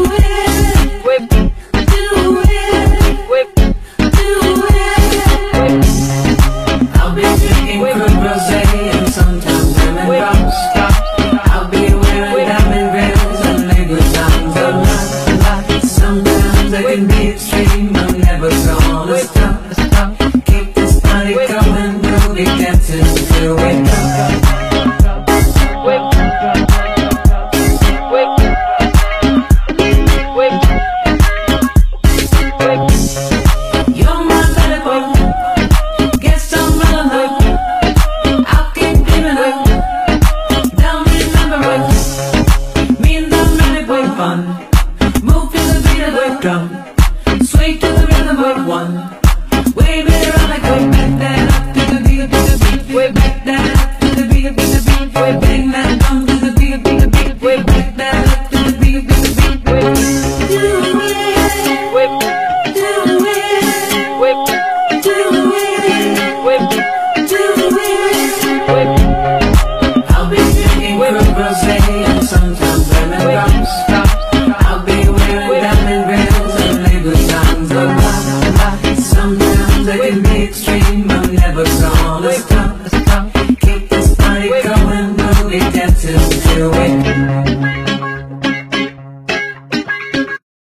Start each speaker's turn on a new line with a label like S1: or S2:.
S1: I'll be drinking crude rosé and sometimes lemon drops. I'll be wearing diamond rings and legal times a lot. Sometimes I can be extreme, I'm never gonna stop. Keep this party going, groovy dancing till we drop. You're my better boy. Get some melon. I'll keep dreaming. Don't remember it. Me and the really boy fun. Move to the beat of the drum. Sway to the rhythm of one. Wave it around like way back that up to the beat, way back that up to the beat, way bang that drum to the beat, way back that up to the beat, way do it, do it, do it, do it.